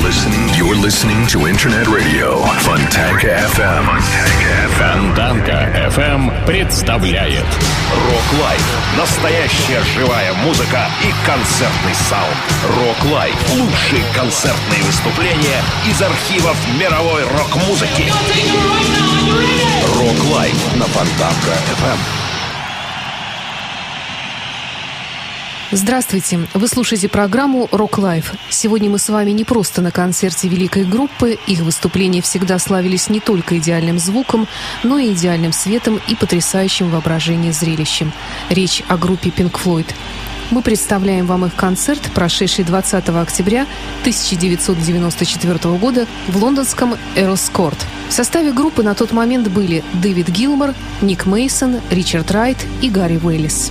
You're listening to Internet Radio Fontanka FM. Фонтанка FM представляет Рок Лайф. Настоящая живая музыка и концертный саунд. Рок Лайф. Лучшие концертные выступления из архивов мировой рок-музыки. Рок Лайф на Фонтанка FM. Здравствуйте! Вы слушаете программу «Рок Лайф». Сегодня мы с вами не просто на концерте великой группы. Их выступления всегда славились не только идеальным звуком, но и идеальным светом и потрясающим воображением зрелищем. Речь о группе Pink Floyd. Мы представляем вам их концерт, прошедший 20 октября 1994 года в лондонском Эрос Корт. В составе группы на тот момент были Дэвид Гилмор, Ник Мейсон, Ричард Райт и Гарри Уэллис.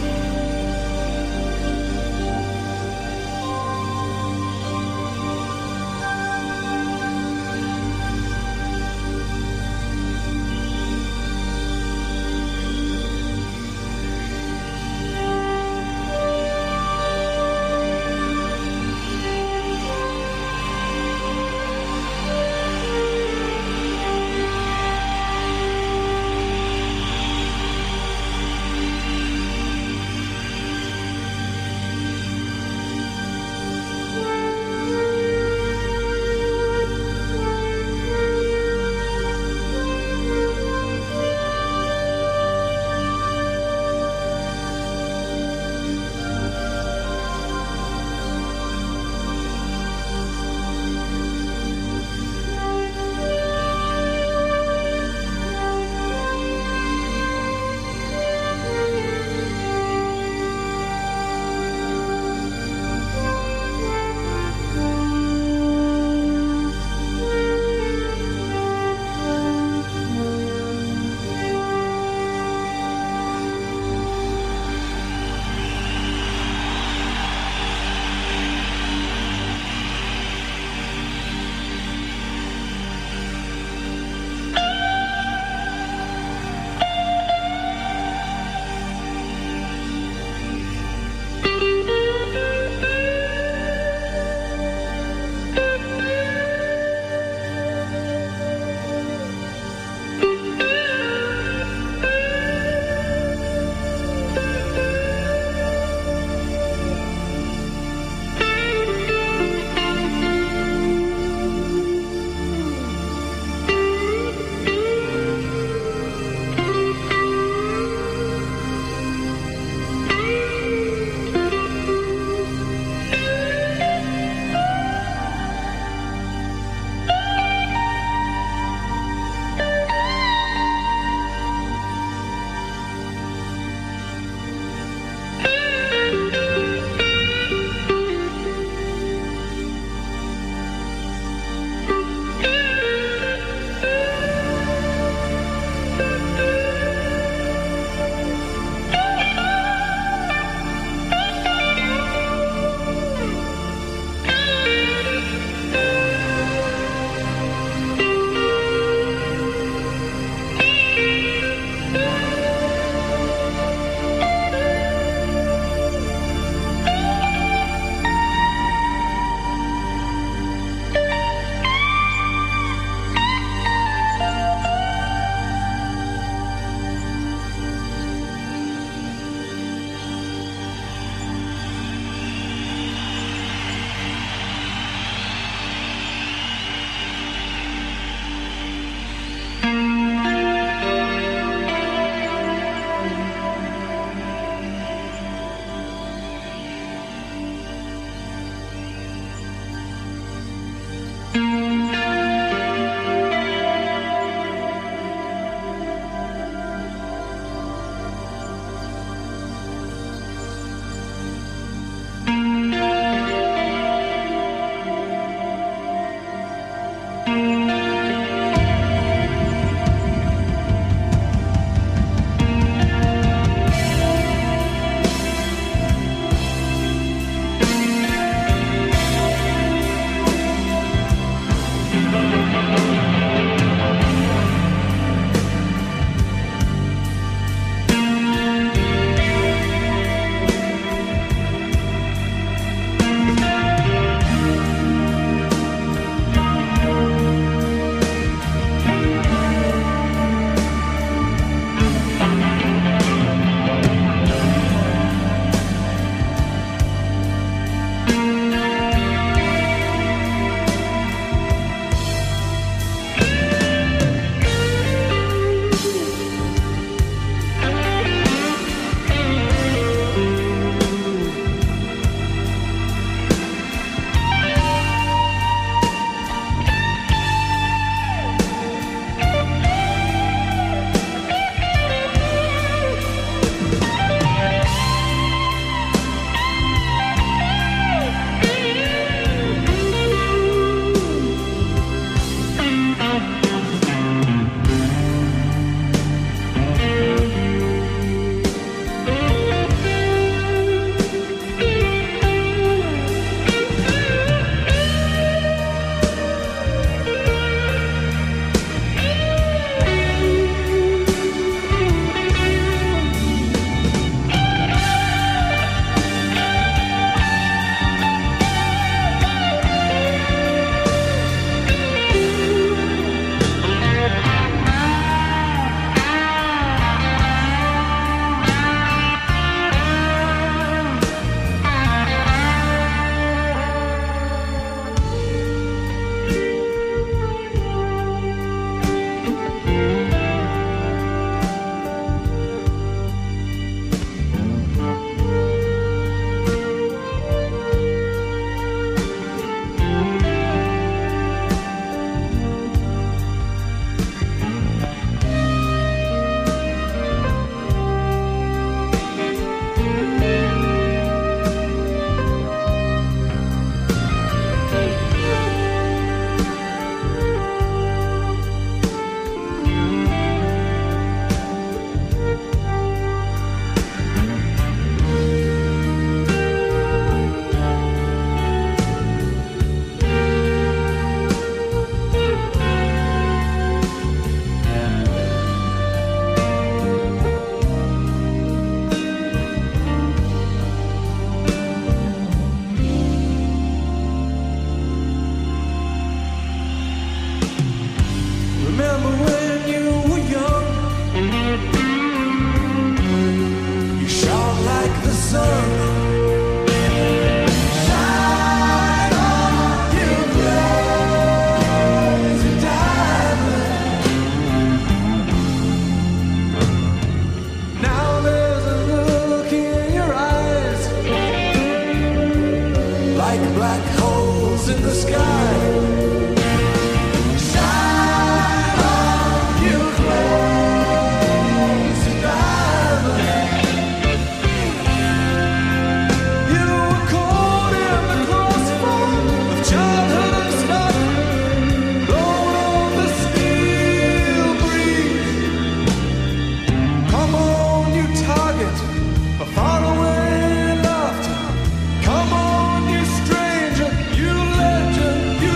Far away laughter. Come on, you stranger, you legend, you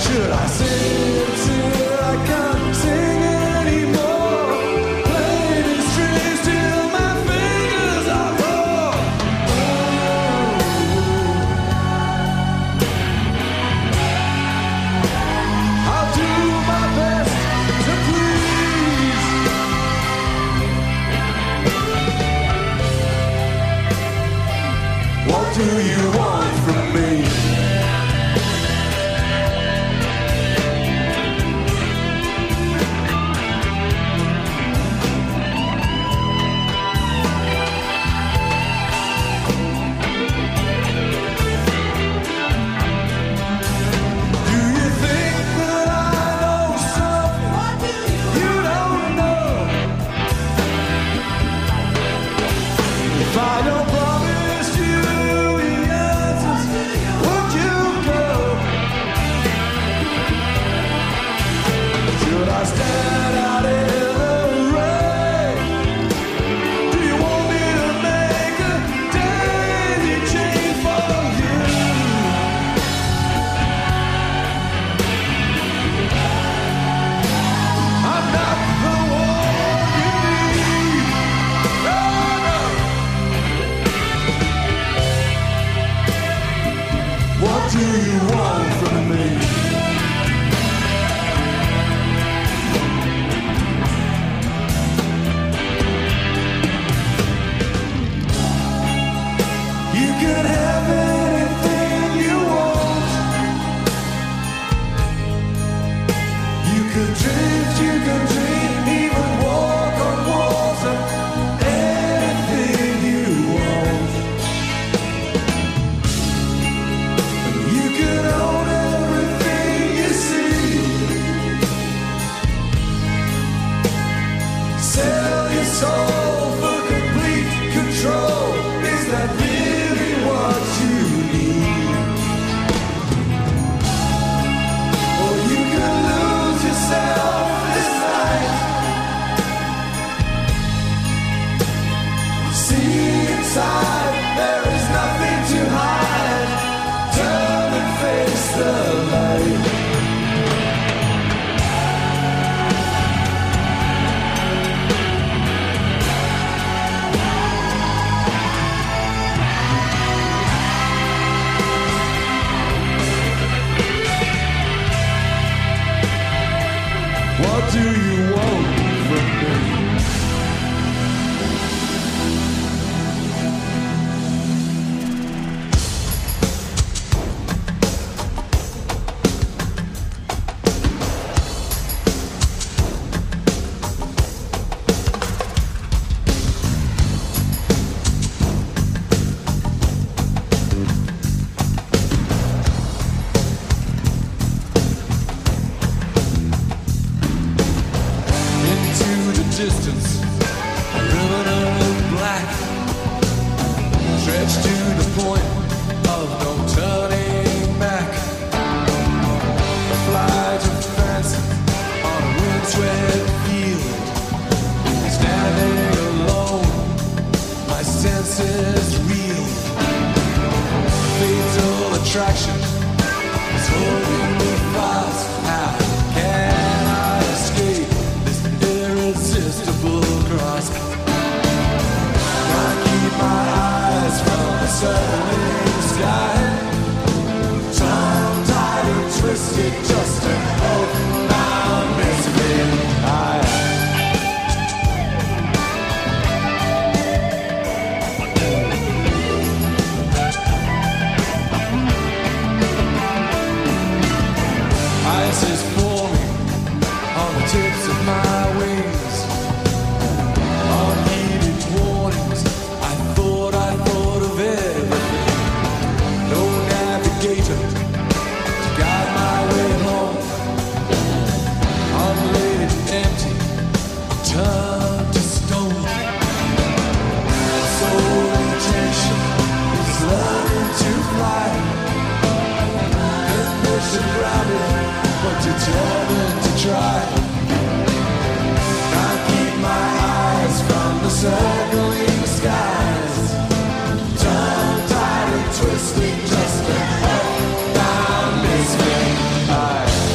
Twisting just to up, down, misfit.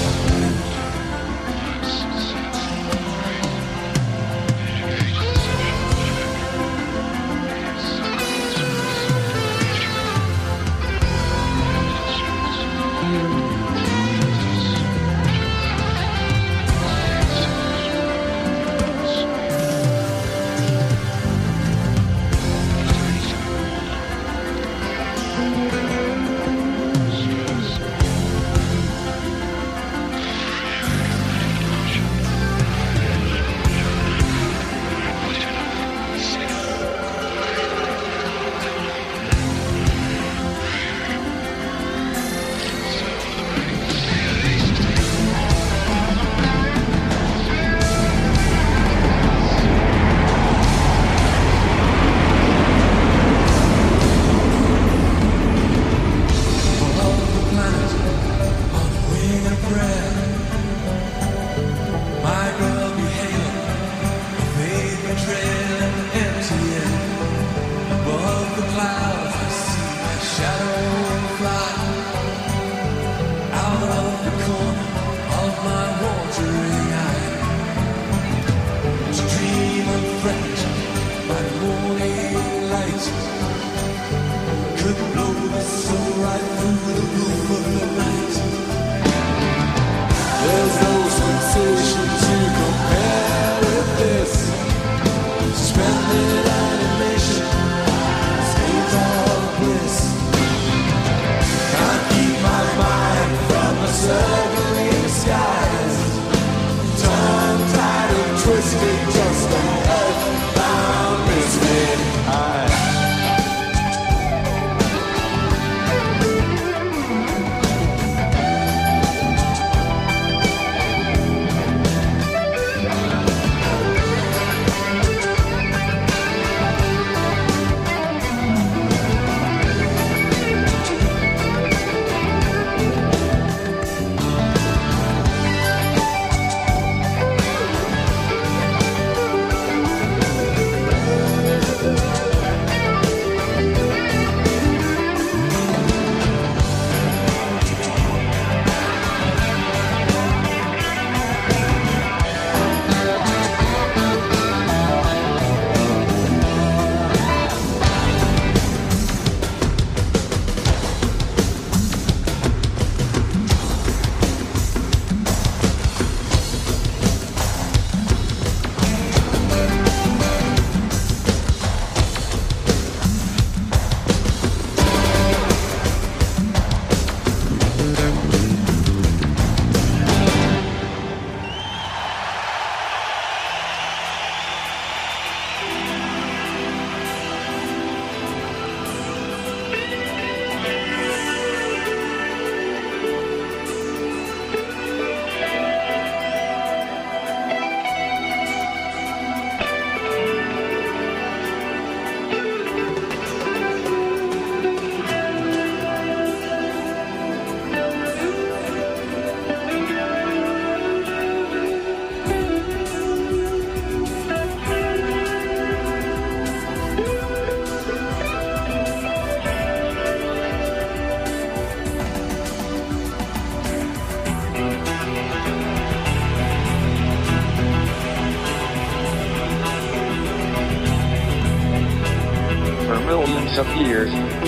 Of years,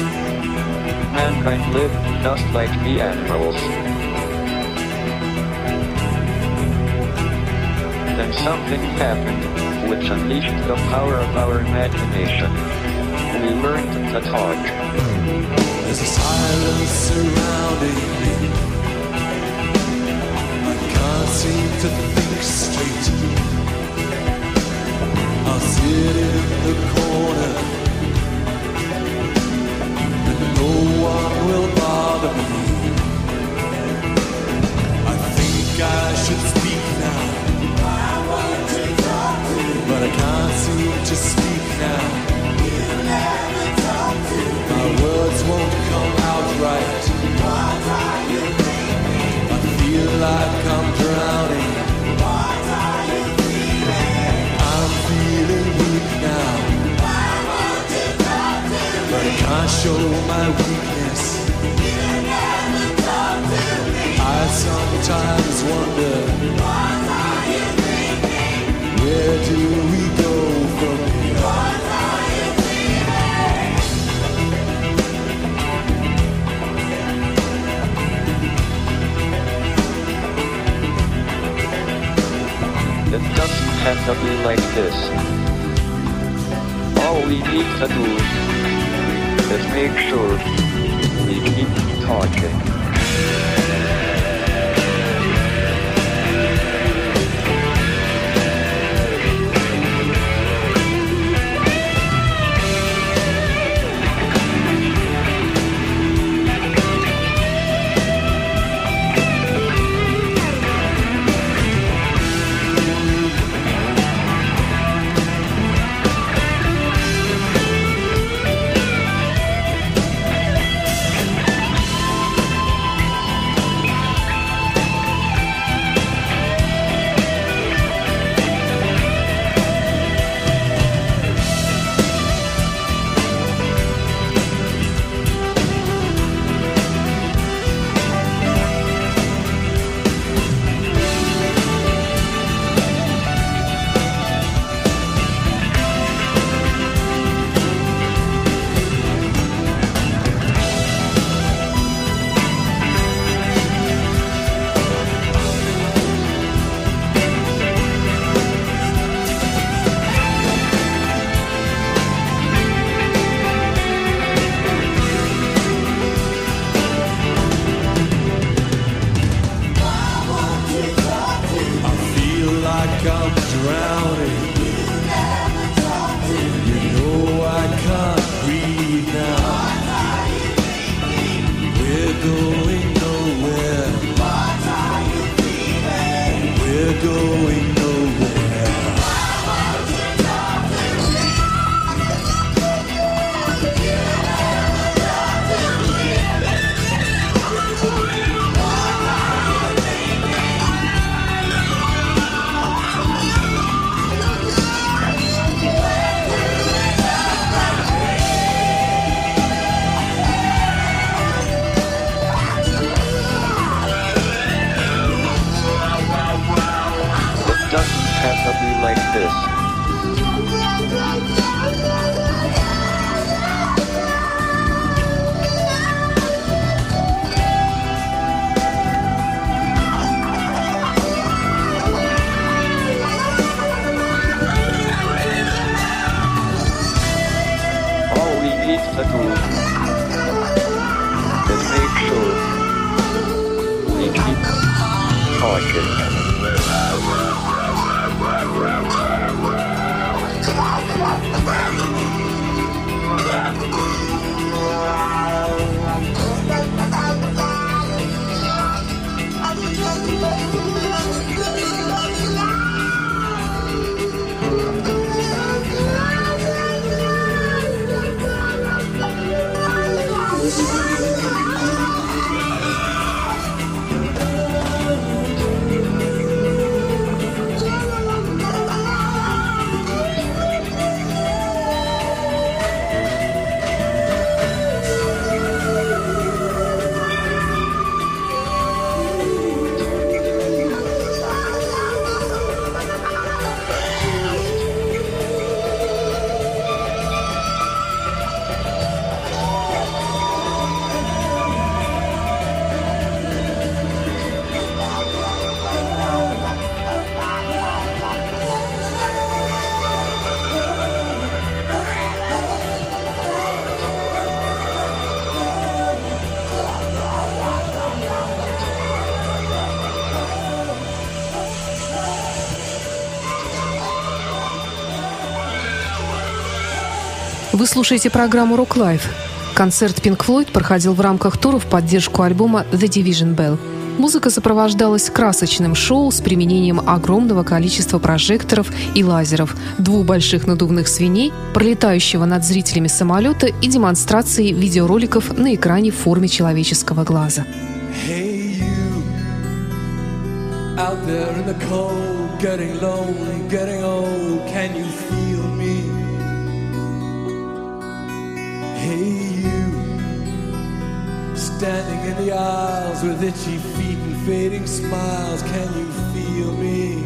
mankind lived just like the animals. Then something happened, which unleashed the power of our imagination. We learned to talk. There's a silence surrounding me. I can't seem to think straight. I'll sit in the corner. No one will bother me. I think I should speak now, but I can't seem to speak now. My words won't come out right. I feel like I'm drowning. I'm feeling weak now, but I can't show my weakness. I sometimes wonder, where do we go from here? It doesn't have to be like this. All we need to do Let's make sure we keep talking. Вы слушаете программу Rock Life. Концерт Pink Floyd проходил в рамках тура в поддержку альбома The Division Bell. Музыка сопровождалась красочным шоу с применением огромного количества прожекторов и лазеров, 2 больших надувных свиней, пролетающего над зрителями самолета и демонстрацией видеороликов на экране в форме человеческого глаза. Hey you, out there in the cold, getting lonely, getting old, can you feel me? Hey you, standing in the aisles with itchy feet and fading smiles, can you feel me?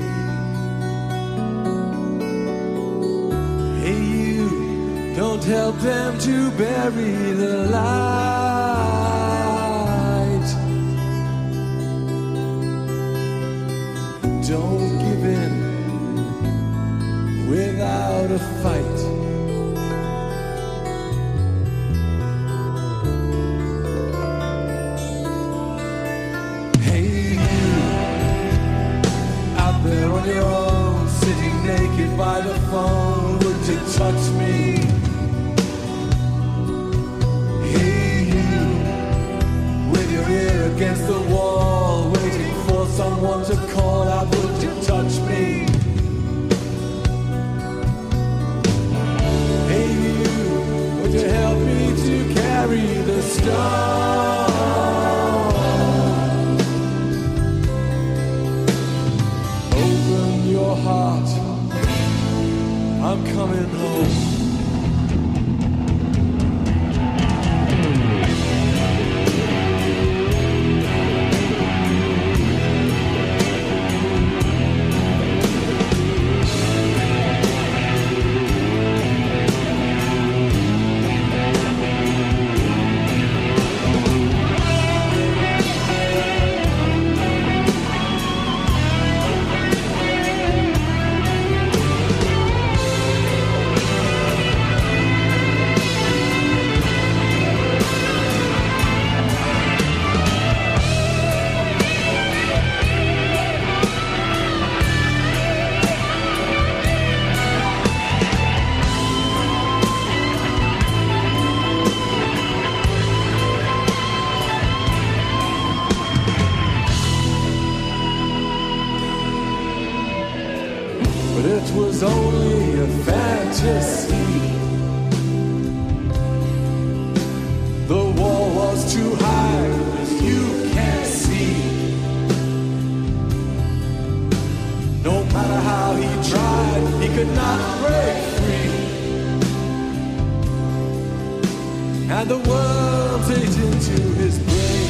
Hey you, don't help them to bury the light. Don't give in without a fight. by the phone, would you touch me? Hey you, with your ear against the wall, waiting for someone to call out, would you touch me? Hey you, would you help me to carry the stone? Open your heart, I'm coming home. But it was only a fantasy. The wall was too high, as you can't see. No matter how he tried, he could not break free. And the worms ate into his brain.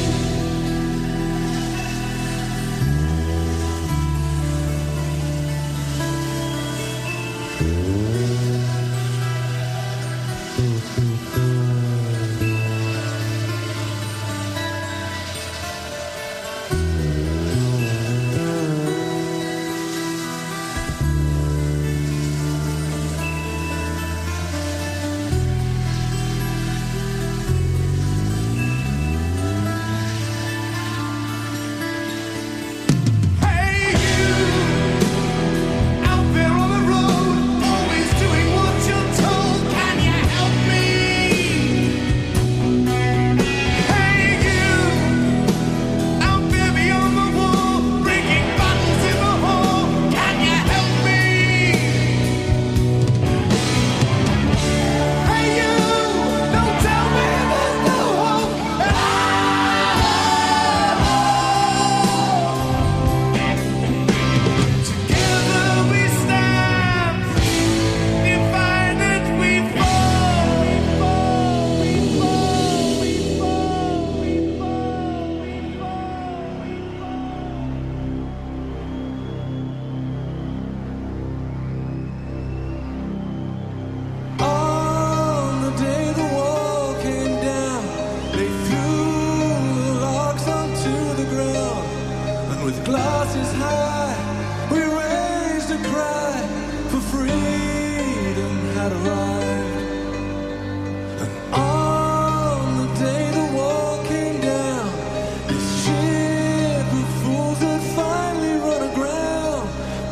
Glasses high, we raised a cry for freedom had arrived. And on the day the wall came down, this ship of fools had finally run aground.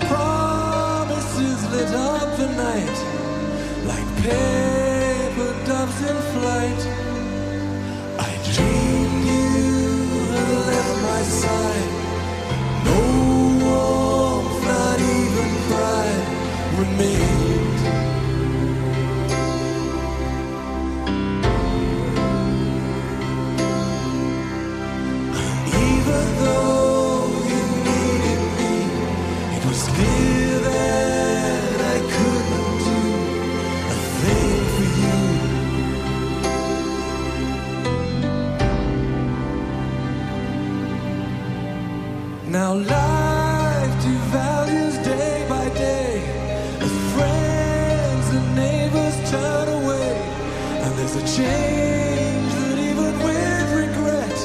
Promises lit up the night like paper doves in flight. I dreamed you had left my side. No warmth, not even pride remained. Even though you needed me, it was clear that I couldn't do a thing for you. Now life devalues day by day as friends and neighbors turn away, and there's a change that even with regret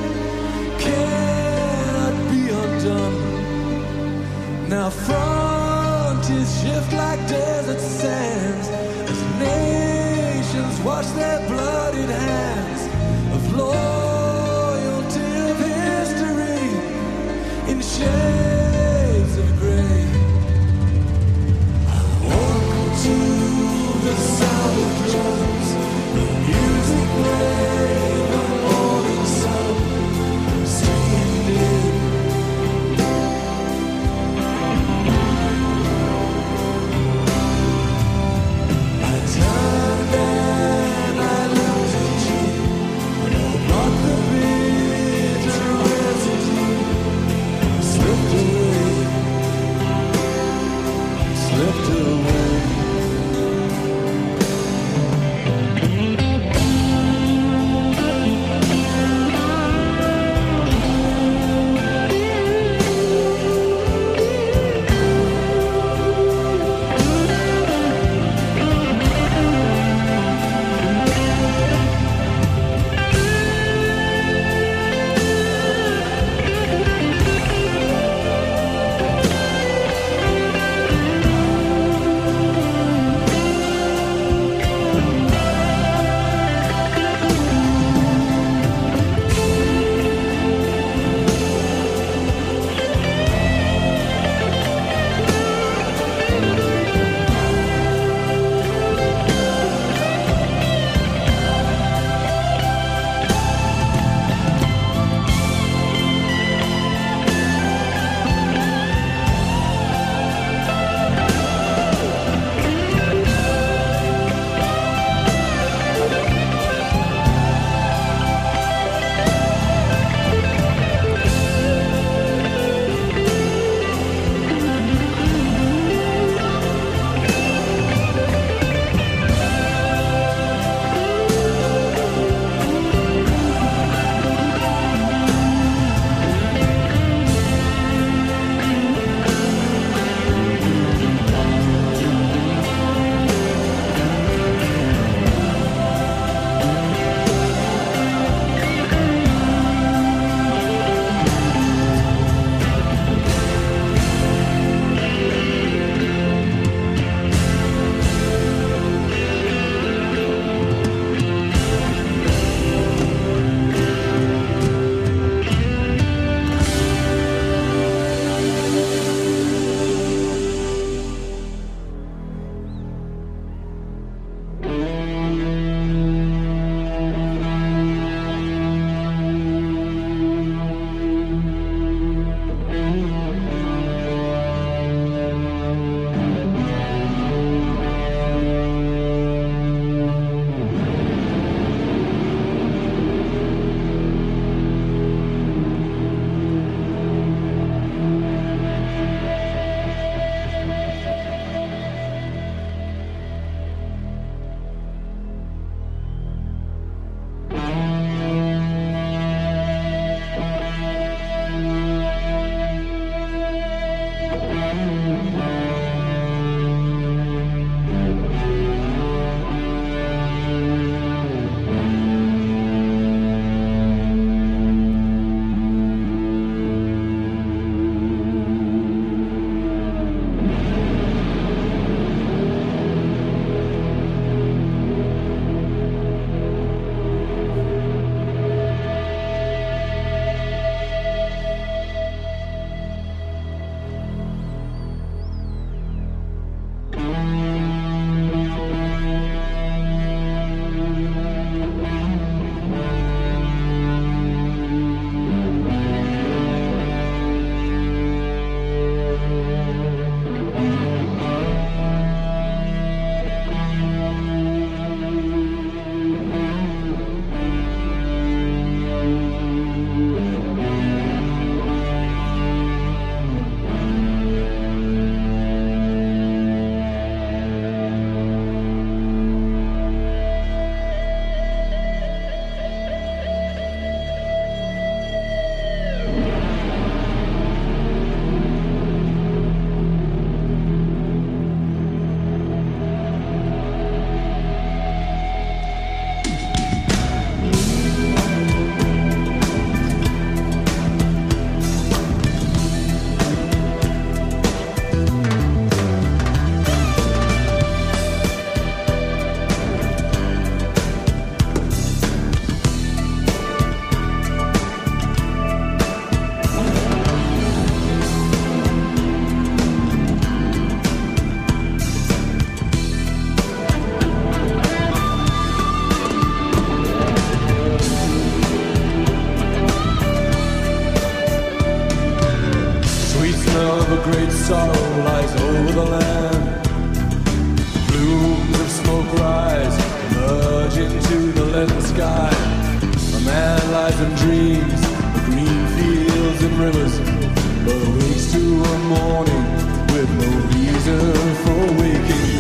cannot be undone. Now frontiers shift like desert sands as nations wash their bloodied hands of loyalty, of history in shades of gray. I of a great sorrow lies over the land. Plumes of smoke rise, emerge into the leaden sky. A man lies and dreams of green fields and rivers, but awakes to a morning with no reason for waking.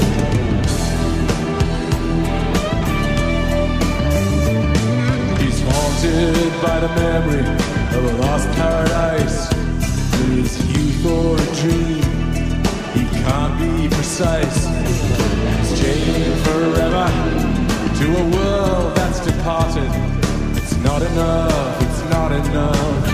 He's haunted by the memory of a lost paradise. Is youth or a dream? He can't be precise. He's chained forever to a world that's departed. It's not enough, it's not enough.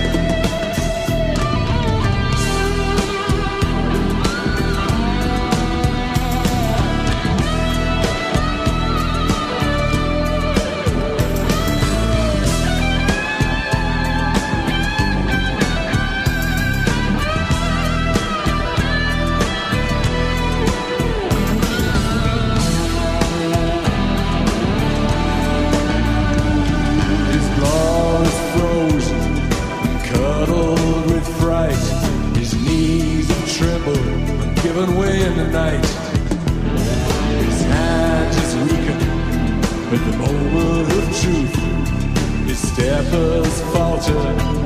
Given way in the night, his hand is weakened at the moment of truth. His step has faltered.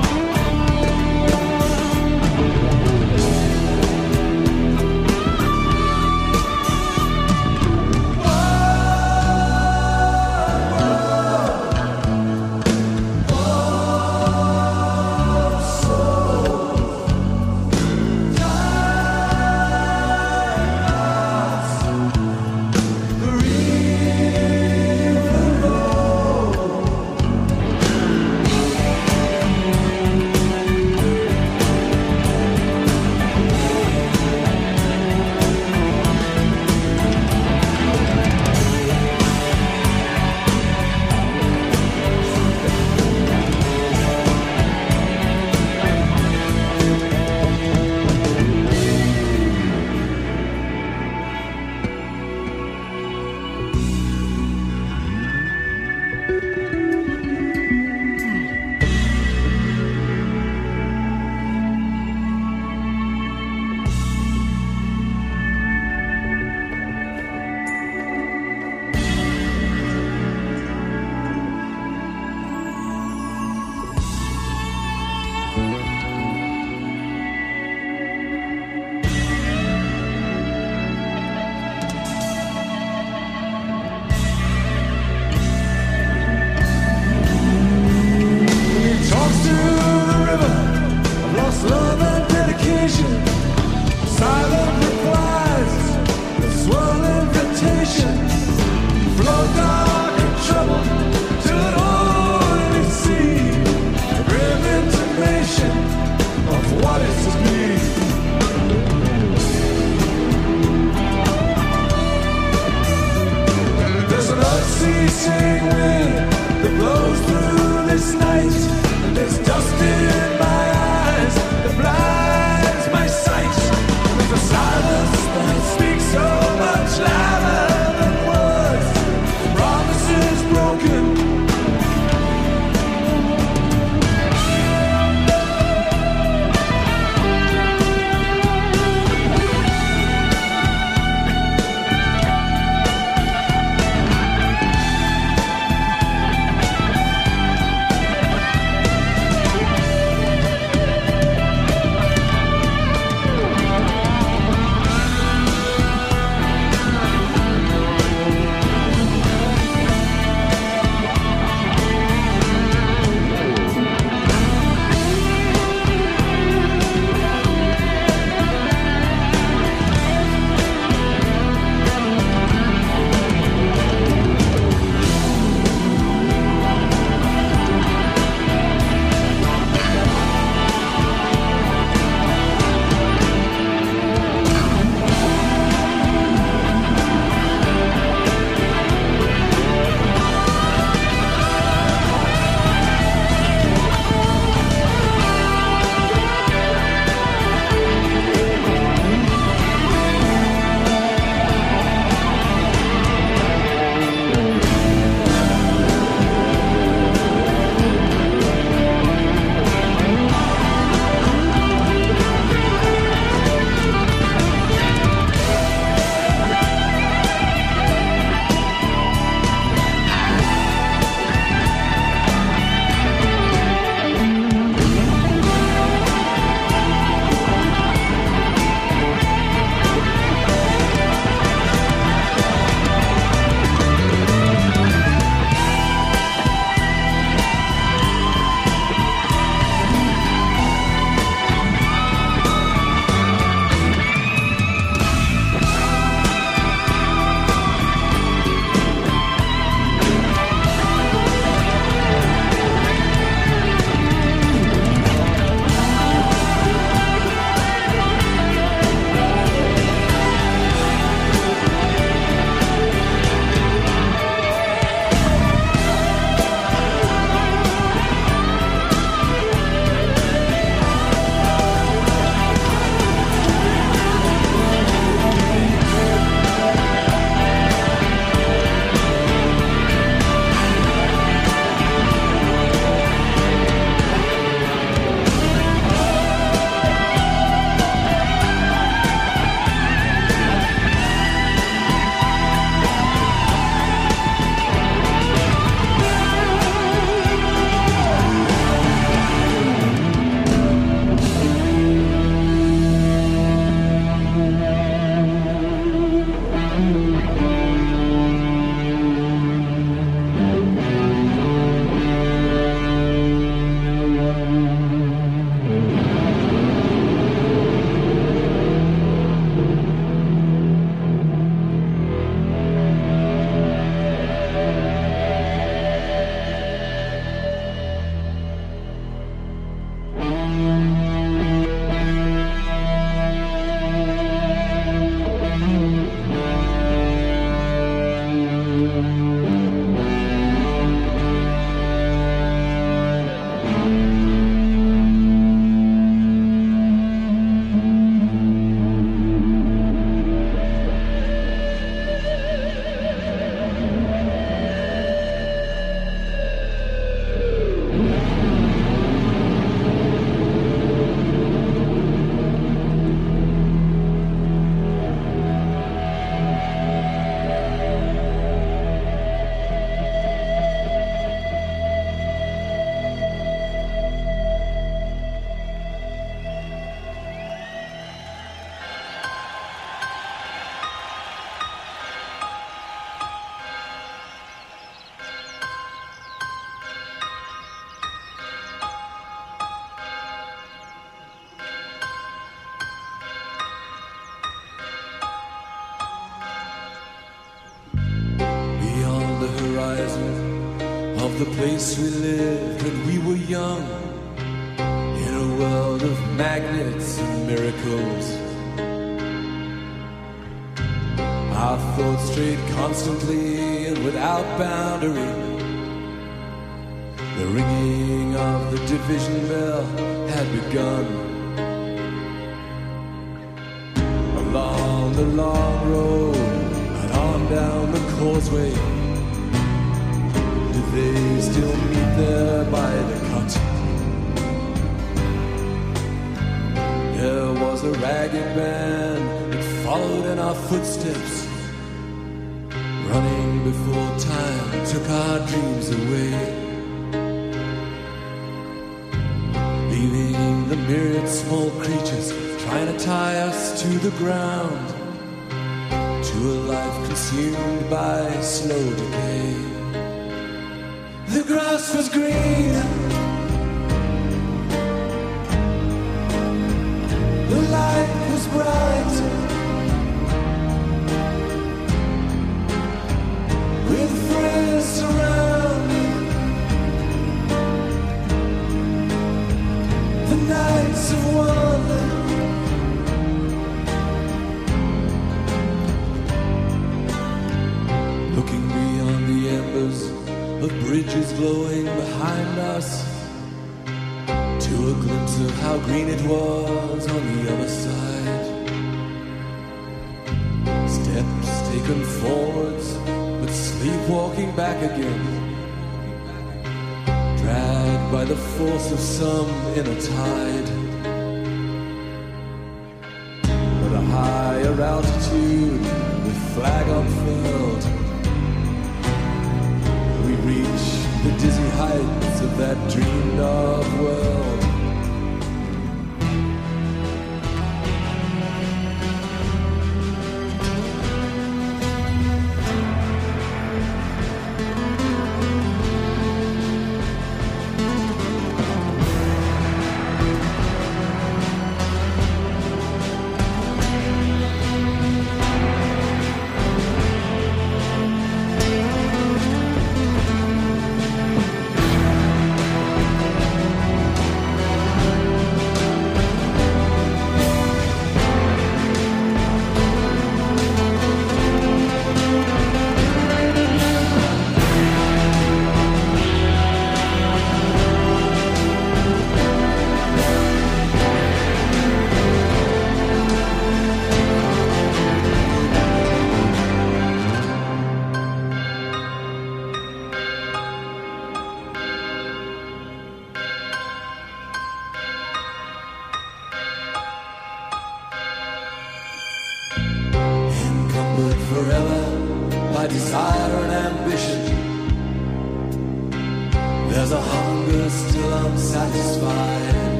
of the place we lived when we were young, in a world of magnets and miracles. Our thoughts strayed constantly and without boundary. The ringing of the division bell had begun. Along the long road and on down the causeway, did they still meet there by the cut? There was a ragged band that followed in our footsteps, running before time took our dreams away, leaving the myriad small creatures trying to tie us to the ground, to a life consumed by slow decay. The grass was green, the light was bright, with friends surrounding. The nights of wonder, looking beyond the embers of bridges glowing behind us, to a glimpse of how green it was on the other side. Steps taken forwards, but sleepwalking back again, dragged by the force of some inner tide. At a higher altitude, with flag unfurled, we reach the dizzy heights of that dreamed of world.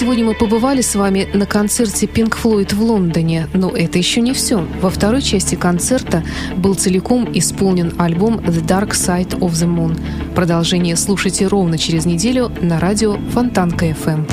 Сегодня мы побывали с вами на концерте Pink Floyd в Лондоне, но это еще не все. Во второй части концерта был целиком исполнен альбом The Dark Side of the Moon. Продолжение слушайте ровно через неделю на радио Фонтанка FM.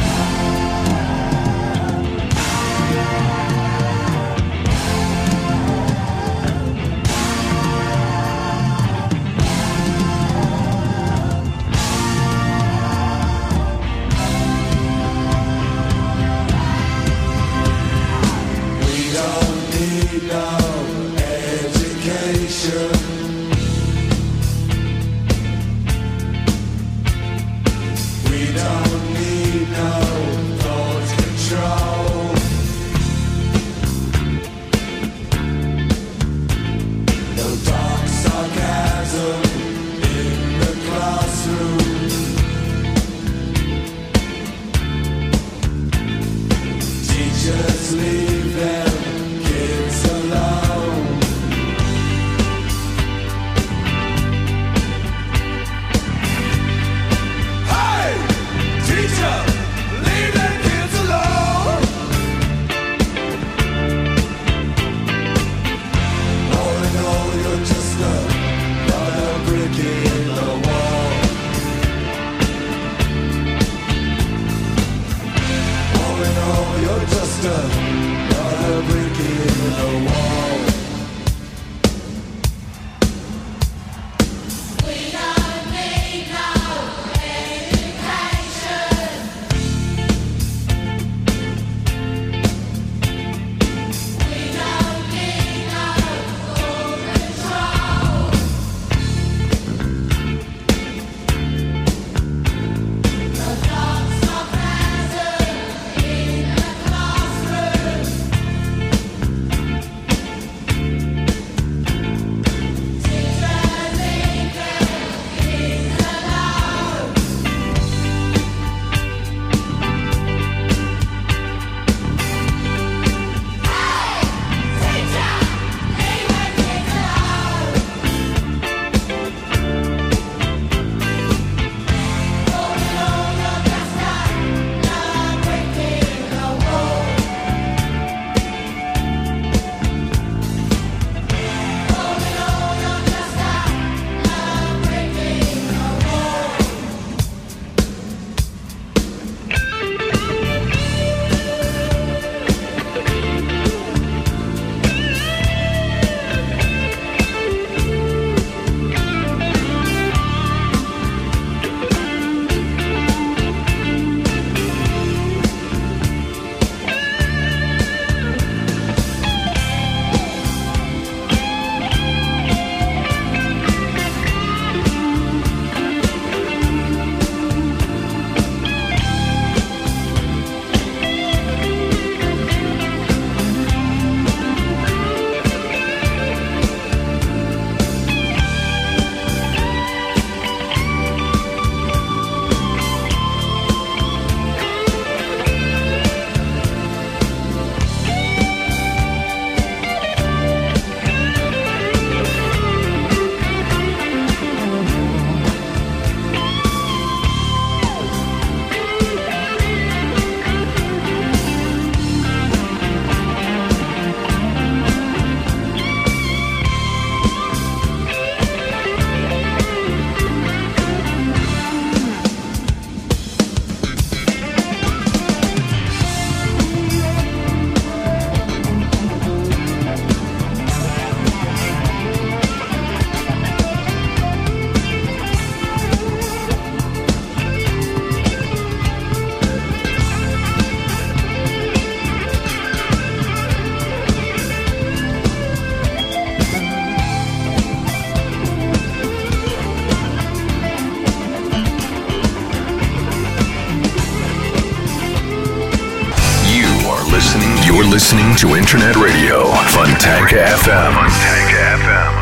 You're listening to Internet Radio, Fontanka FM. Fontanka FM.